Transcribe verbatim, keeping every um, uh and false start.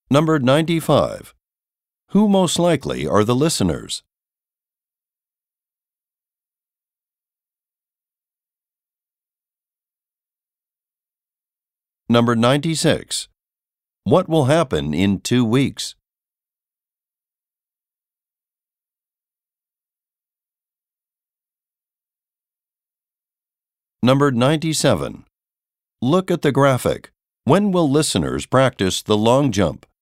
Number ninety-five. Who most likely are the listeners? Number ninety-six. What will happen in two weeks? Number ninety-seven. Look at the graphic. When will listeners practice the long jump?